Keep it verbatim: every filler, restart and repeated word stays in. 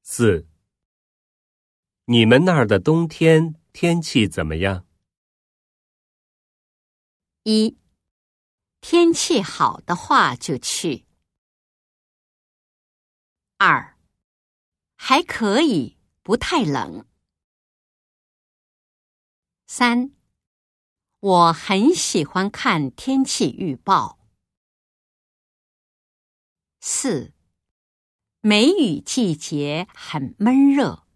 四，你们那儿的冬天天气怎么样？ 一，天气好的话就去。二，还可以，不太冷。三，我很喜欢看天气预报。四，梅雨季节很闷热。